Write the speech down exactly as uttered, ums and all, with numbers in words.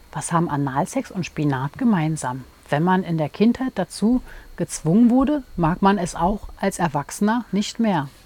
Was haben Analsex und Spinat gemeinsam? Wenn man in der Kindheit dazu gezwungen wurde, mag man es auch als Erwachsener nicht mehr.